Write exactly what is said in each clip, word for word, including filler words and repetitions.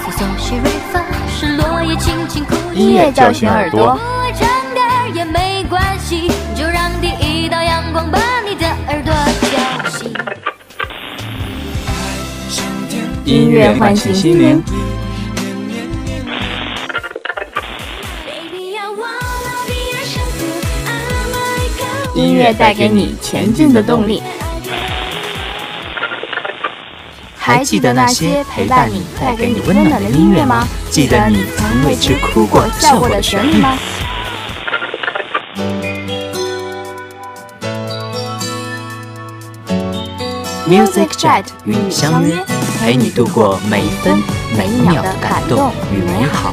是搜寻瑞发，是落叶轻轻哭泣。 音乐叫醒耳朵， 长点儿也没关系，就让第一道阳光把你的耳朵叫醒。 音乐唤醒心灵，音乐带给你前进的动力。还记得那些陪伴你、带给你温暖的音乐吗？记得你曾为之哭过、笑过的旋律吗？Music Jet 与你相约，陪你度过每一分每一秒的感动与美好。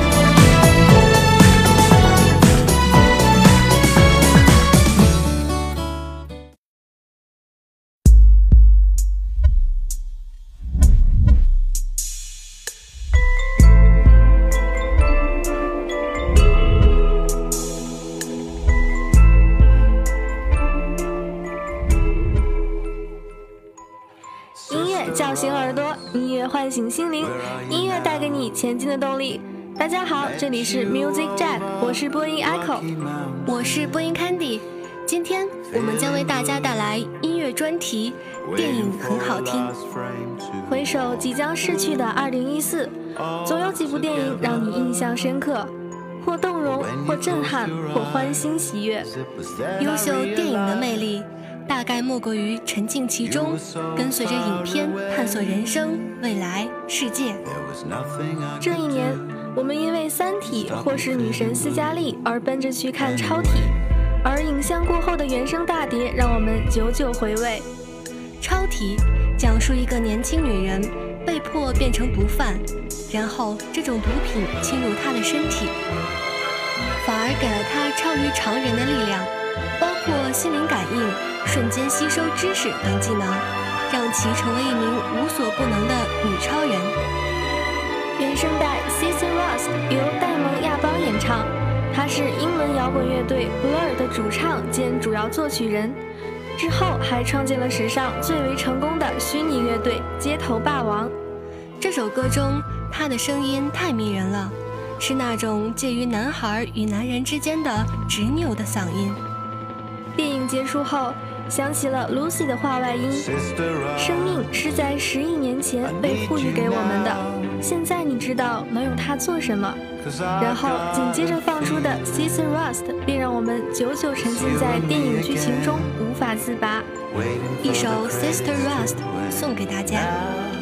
叫醒耳朵，音乐唤醒心灵，音乐带给你前进的动力。大家好，这里是 Music Jet， 我是播音 Echo， 我是播音 Candy。今天我们将为大家带来音乐专题，电影很好听。 回首即将逝去的二零一四，总有几部电影让你印象深刻，或动容，或震撼，或欢欣喜悦。 优秀电影的魅力大概莫过于沉浸其中，跟随着影片探索人生、未来、世界。 这一年，我们因为《三体》或是女神斯嘉丽而奔着去看《超体》，而影像过后的原声大碟让我们久久回味。 《超体》讲述一个年轻女人被迫变成毒贩，然后这种毒品侵入她的身体，反而给了她超于常人的力量，包括心灵感应、瞬间吸收知识等技能，让其成为一名无所不能的女超人。 原声带 Sister Rust 由戴蒙亚邦演唱，他是英文摇滚乐队 Blur 的主唱兼主要作曲人，之后还创建了史上最为成功的虚拟乐队街头霸王。 这首歌中他的声音太迷人了，是那种介于男孩与男人之间的执拗的嗓音。 电影结束后，响起了 Lucy 的话外音，生命是在十亿年前被赋予给我们的，现在你知道能用它做什么。然后紧接着放出的 Sister Rust 便让我们久久沉浸在电影剧情中无法自拔。 一首 Sister Rust 送给大家。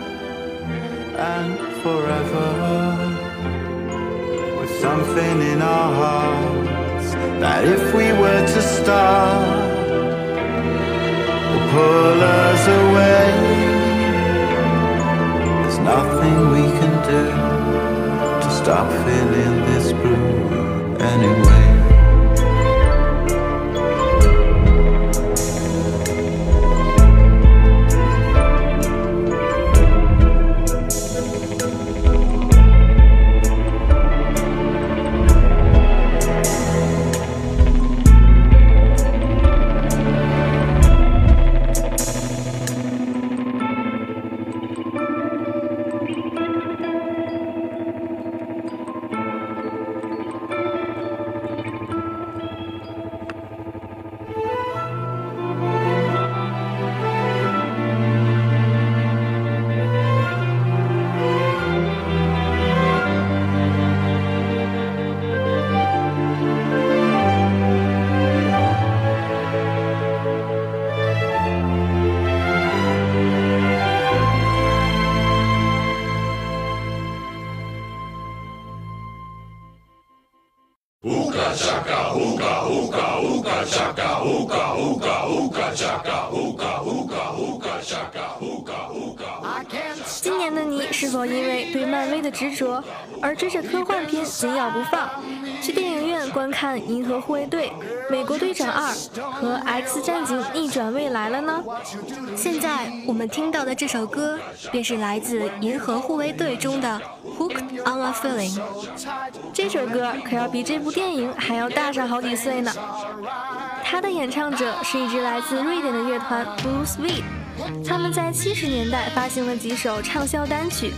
And forever, with something in our hearts that if we were to start, will pull us away. There's nothing we can do to stop feeling this blue anyway. Ooga chaka, ooga ooga ooga chaka, ooga ooga ooga chaka, ooga ooga ooga chaka, ooga ooga. 今年的你是否因为对漫威的执着而追着科幻片紧咬不放，去电影院观看《银河护卫队》、《美国队长二》和《X 战警：逆转未来》了呢？ 现在我们听到的这首歌便是来自《银河护卫队》中的 Hooked on a Feeling。 这首歌可要比这部电影还要大上好几岁呢。它的演唱者是一支来自瑞典的乐团 Blue Sweet， 他们在七十年代发行了几首畅销单曲，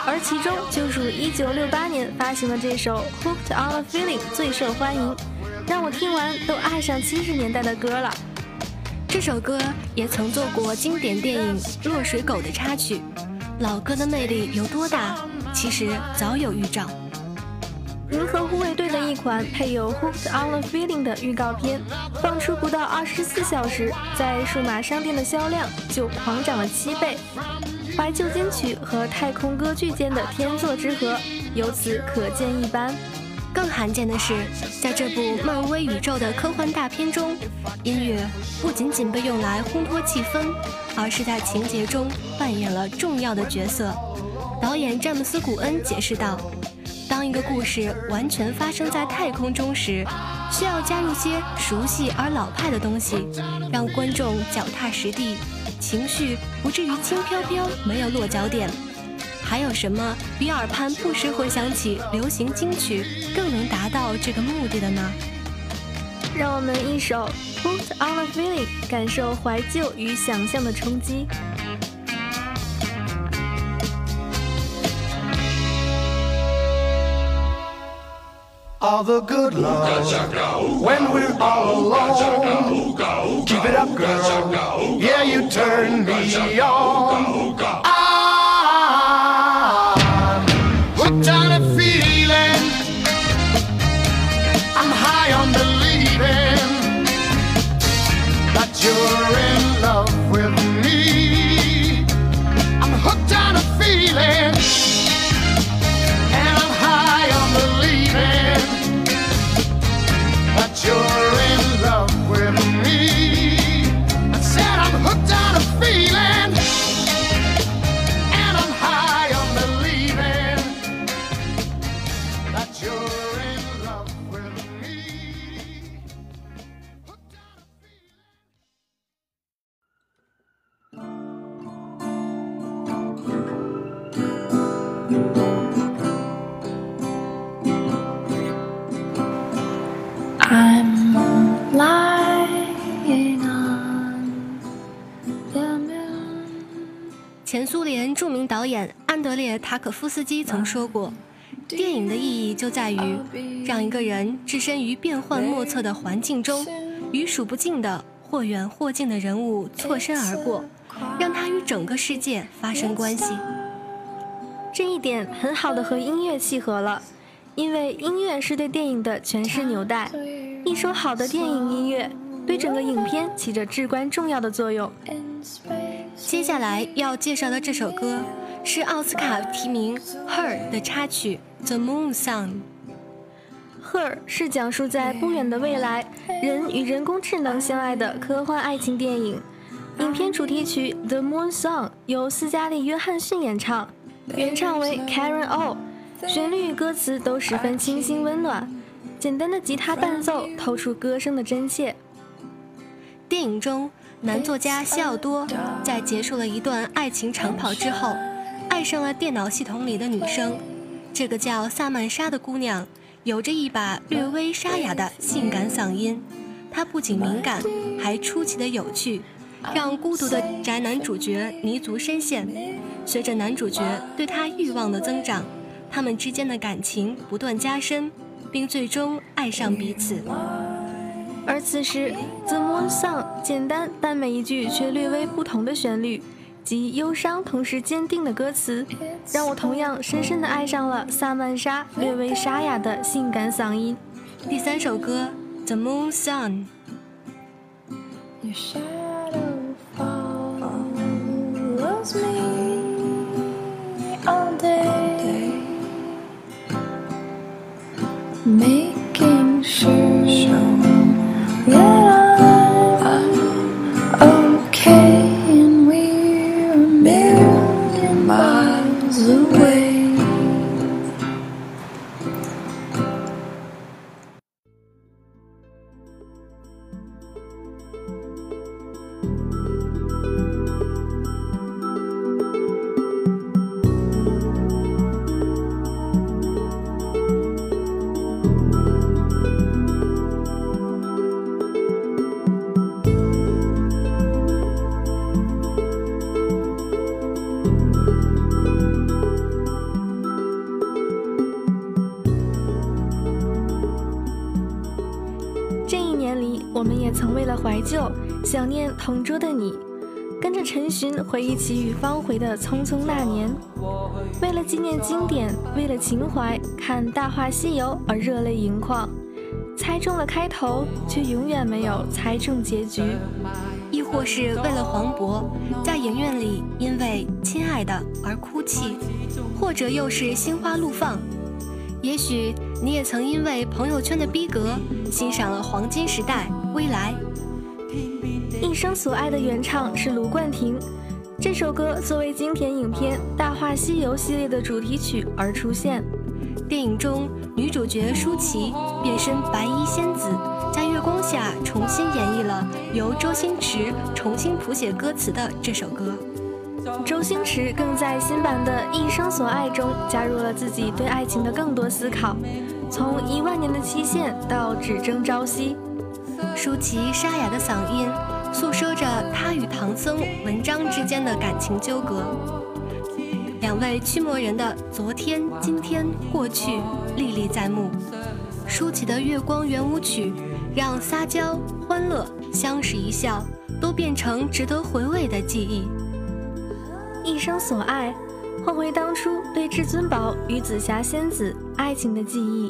而其中就属一九六八年发行的这首 Hooked on a Feeling 最受欢迎，让我听完都爱上七十年代的歌了。 这首歌也曾做过经典电影《落水狗》的插曲，老歌的魅力有多大，其实早有预兆。 银河护卫队的一款配有 Hooked on a Feeling 的预告片，放出不到二十四小时，在数码商店的销量就狂涨了七倍。怀旧金曲和太空歌剧间的天作之合，由此可见一斑。 更罕见的是，在这部漫威宇宙的科幻大片中，音乐不仅仅被用来烘托气氛，而是在情节中扮演了重要的角色。导演詹姆斯·古恩解释道，当一个故事完全发生在太空中时，需要加入些熟悉而老派的东西，让观众脚踏实地，情绪不至于轻飘飘没有落脚点。还有什么比耳畔不时回响起流行金曲更能达到这个目的的呢？ 让我们一首 Hooked on a Feeling 感受怀旧与想象的冲击。 All the good love when we're all alone. Keep it up, girl. Yeah, you turn me on. I'm hooked on a feeling. I'm high on believing that you're in love with me. I'm hooked on a feeling. You're in love with me. I said I'm hooked on a feeling, and I'm high on believing that you're in love with me. Hooked on a I'm lying on the moon. 前苏联著名导演安德烈·塔可夫斯基曾说过，电影的意义就在于让一个人置身于变幻莫测的环境中，与数不尽的或远或近的人物错身而过，让他与整个世界发生关系。 这一点很好的和音乐契合了，因为音乐是对电影的诠释纽带。一首好的电影音乐对整个影片起着至关重要的作用。 接下来要介绍的这首歌是奥斯卡提名《Her》的插曲《The Moon Song》。《Her》 是讲述在不远的未来，人与人工智能相爱的科幻爱情电影。影片主题曲《The Moon Song》由斯嘉丽·约翰逊演唱，原唱为 Karen O， 旋律与歌词都十分清新温暖。简单的吉他伴奏透出歌声的真切。 电影中，男作家西奥多在结束了一段爱情长跑之后，爱上了电脑系统里的女生。这个叫萨曼莎的姑娘有着一把略微沙哑的性感嗓音，她不仅敏感，还出奇的有趣，让孤独的宅男主角泥足深陷。随着男主角对她欲望的增长，他们之间的感情不断加深，并最终爱上彼此。 而此时 The Moon Song 简单但每一句却略微不同的旋律及忧伤同时坚定的歌词，让我同样深深地爱上了萨曼莎略微沙哑的性感嗓音。 第三首歌 The Moon Song。 Your shadow follows me all day, making sure that I'm okay and we're a million miles away. 们也曾为了怀旧，想念同桌的你，跟着陈寻回忆起与方茴的匆匆那年，为了纪念经典，为了情怀，看《大话西游》而热泪盈眶，猜中了开头，却永远没有猜中结局。 亦或是为了黄渤，在影院里因为亲爱的而哭泣，或者又是心花怒放。也许你也曾因为朋友圈的逼格，欣赏了黄金时代、未来。 一生所爱的原唱是卢冠廷，这首歌作为经典影片《大话西游》系列的主题曲而出现。 电影中女主角舒淇变身白衣仙子，在月光下重新演绎了由周星驰重新谱写歌词的这首歌。 周星驰更在新版的《一生所爱》中加入了自己对爱情的更多思考，从一万年的期限到只争朝夕。 舒淇沙哑的嗓音诉说着她与唐僧文章之间的感情纠葛，两位驱魔人的昨天、今天、过去历历在目。舒淇的月光圆舞曲让撒娇、欢乐、相视一笑都变成值得回味的记忆。 一生所爱，换回当初对至尊宝与紫霞仙子爱情的记忆。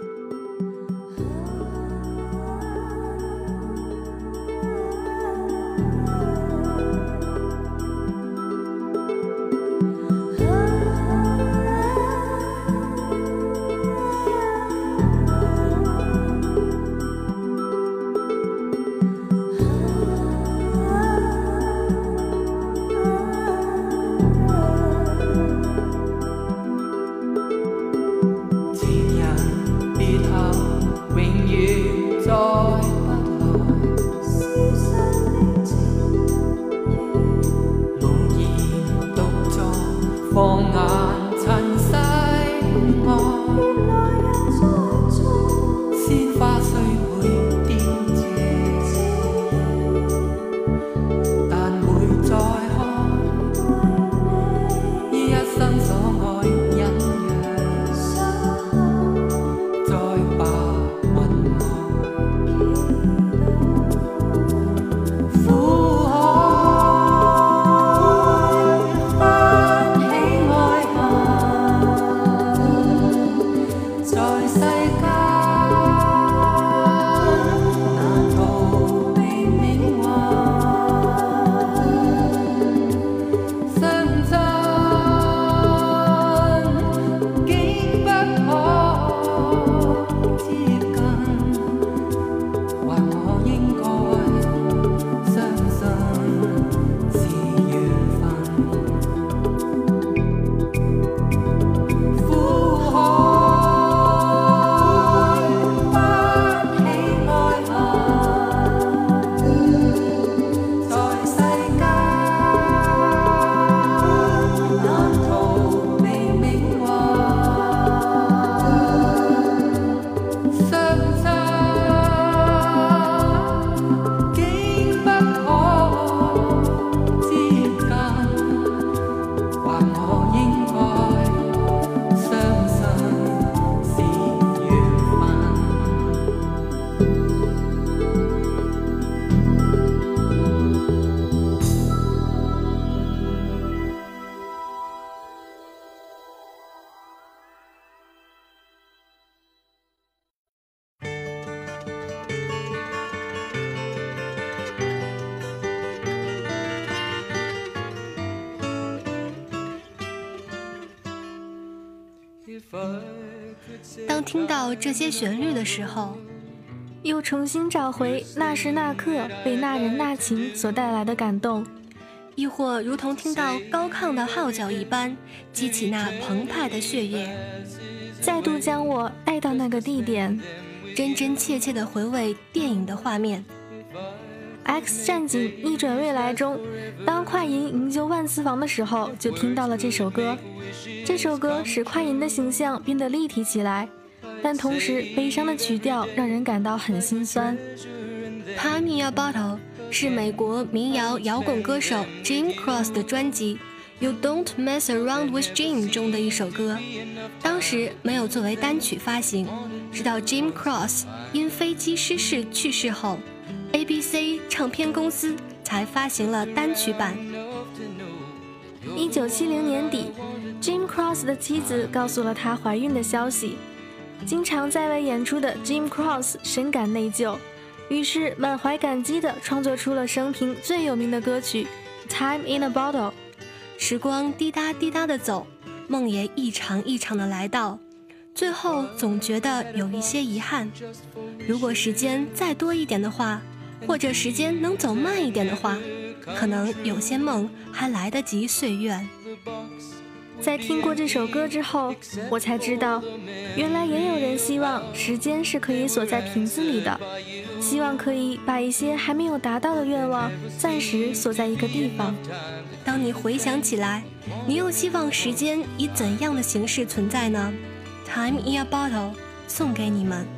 当听到这些旋律的时候， 又重新找回那时那刻被那人那情所带来的感动， 亦或如同听到高亢的号角一般，激起那澎湃的血液， 再度将我带到那个地点， 真真切切地回味电影的画面。 X 战警逆转未来中，当快银营救万磁王的时候，就听到了这首歌。这首歌使快银的形象变得立体起来，但同时悲伤的曲调让人感到很心酸。 Pass Me a Bottle 是美国民谣摇滚歌手 Jim Cross 的专辑 You Don't Mess Around with Jim 中的一首歌，当时没有作为单曲发行，直到 Jim Cross 因飞机失事去世后， A B C 唱片公司才发行了单曲版。 一九七零年底 Jim Cross 的妻子告诉了他怀孕的消息，经常在外演出的 Jim Cross 深感内疚，于是满怀感激地创作出了生平最有名的歌曲 Time in a Bottle。 时光滴答滴答地走，梦也一场一场地来到，最后总觉得有一些遗憾，如果时间再多一点的话，或者时间能走慢一点的话，可能有些梦还来得及岁月。 在听过这首歌之后，我才知道，原来也有人希望时间是可以锁在瓶子里的，希望可以把一些还没有达到的愿望暂时锁在一个地方。 当你回想起来，你又希望时间以怎样的形式存在呢？ Time in a Bottle 送给你们。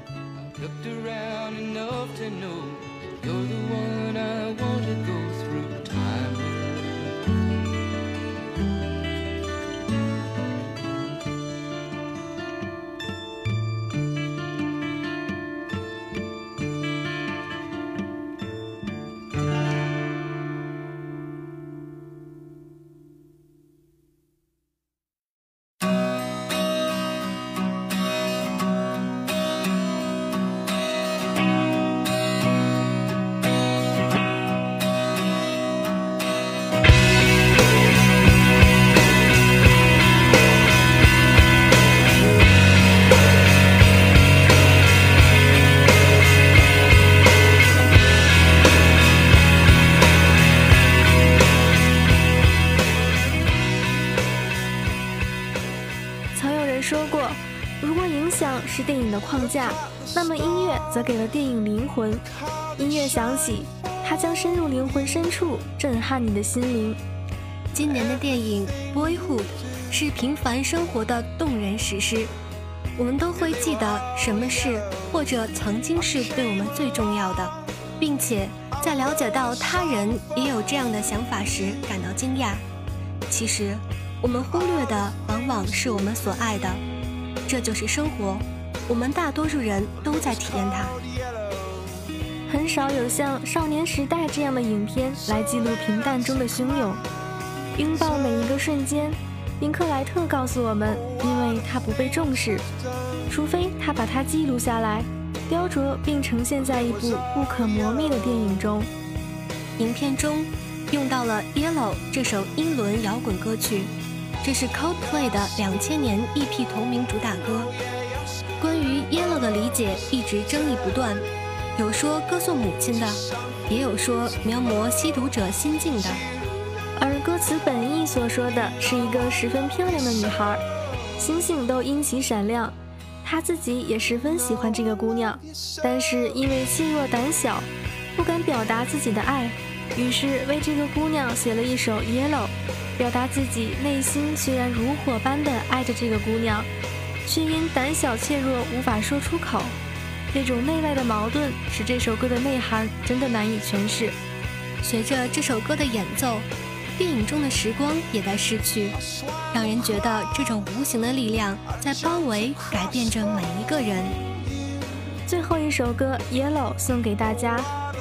是电影的框架，那么音乐则给了电影灵魂。音乐响起，它将深入灵魂深处，震撼你的心灵。 今年的电影《Boyhood》是平凡生活的动人史诗，我们都会记得什么是或者曾经是对我们最重要的，并且在了解到他人也有这样的想法时感到惊讶。其实我们忽略的往往是我们所爱的，这就是生活，我们大多数人都在体验它。 很少有像《少年时代》这样的影片来记录平淡中的汹涌，拥抱每一个瞬间。林克莱特告诉我们，因为它不被重视，除非他把它记录下来，雕琢并呈现在一部不可磨灭的电影中。 影片中用到了《Yellow》这首英伦摇滚歌曲，这是 Coldplay 的两千年 E P 同名主打歌。关于 Yellow 的理解一直争议不断，有说歌颂母亲的，也有说描摹吸毒者心境的。 而歌词本意所说的是一个十分漂亮的女孩，星星都因其闪亮，她自己也十分喜欢这个姑娘，但是因为气弱胆小，不敢表达自己的爱，于是为这个姑娘写了一首 Yellow， 表达自己内心虽然如火般的爱着这个姑娘，却因胆小怯弱无法说出口。这种内外的矛盾使这首歌的内涵真的难以诠释。 随着这首歌的演奏，电影中的时光也在逝去，让人觉得这种无形的力量在包围改变着每一个人。 最后一首歌 Yellow 送给大家。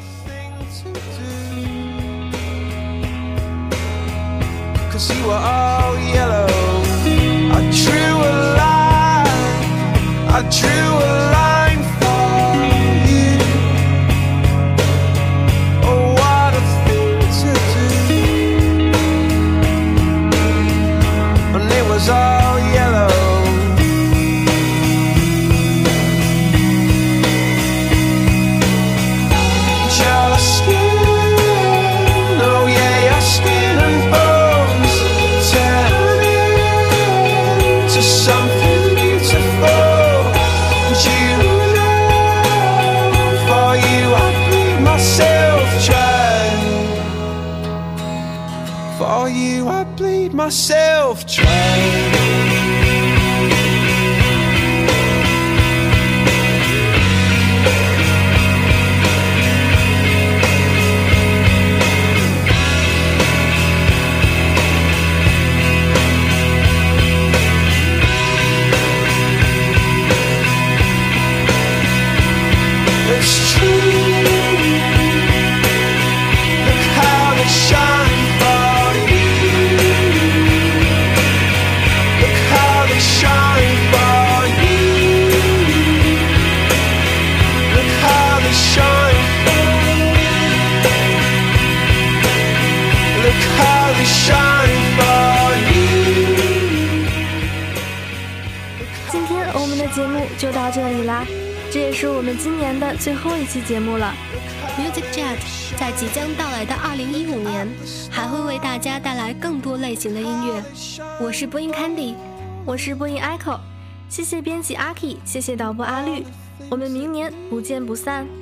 Cause you are all yellow. I drew a line, I drew a line for you. Oh, what a thing to do. And it was all yellow. Your skin, oh yeah, your skin and bones turn into something beautiful. And you know, for you I bleed myself dry. For you I bleed myself dry. It's true. 节目就到这里啦，这也是我们今年的最后一期节目了。 Music Jet 在即将到来的二零一五年，还会为大家带来更多类型的音乐。我是播音 Candy， 我是播音 Echo， 谢谢编辑阿 K， 谢谢导播阿绿，我们明年不见不散。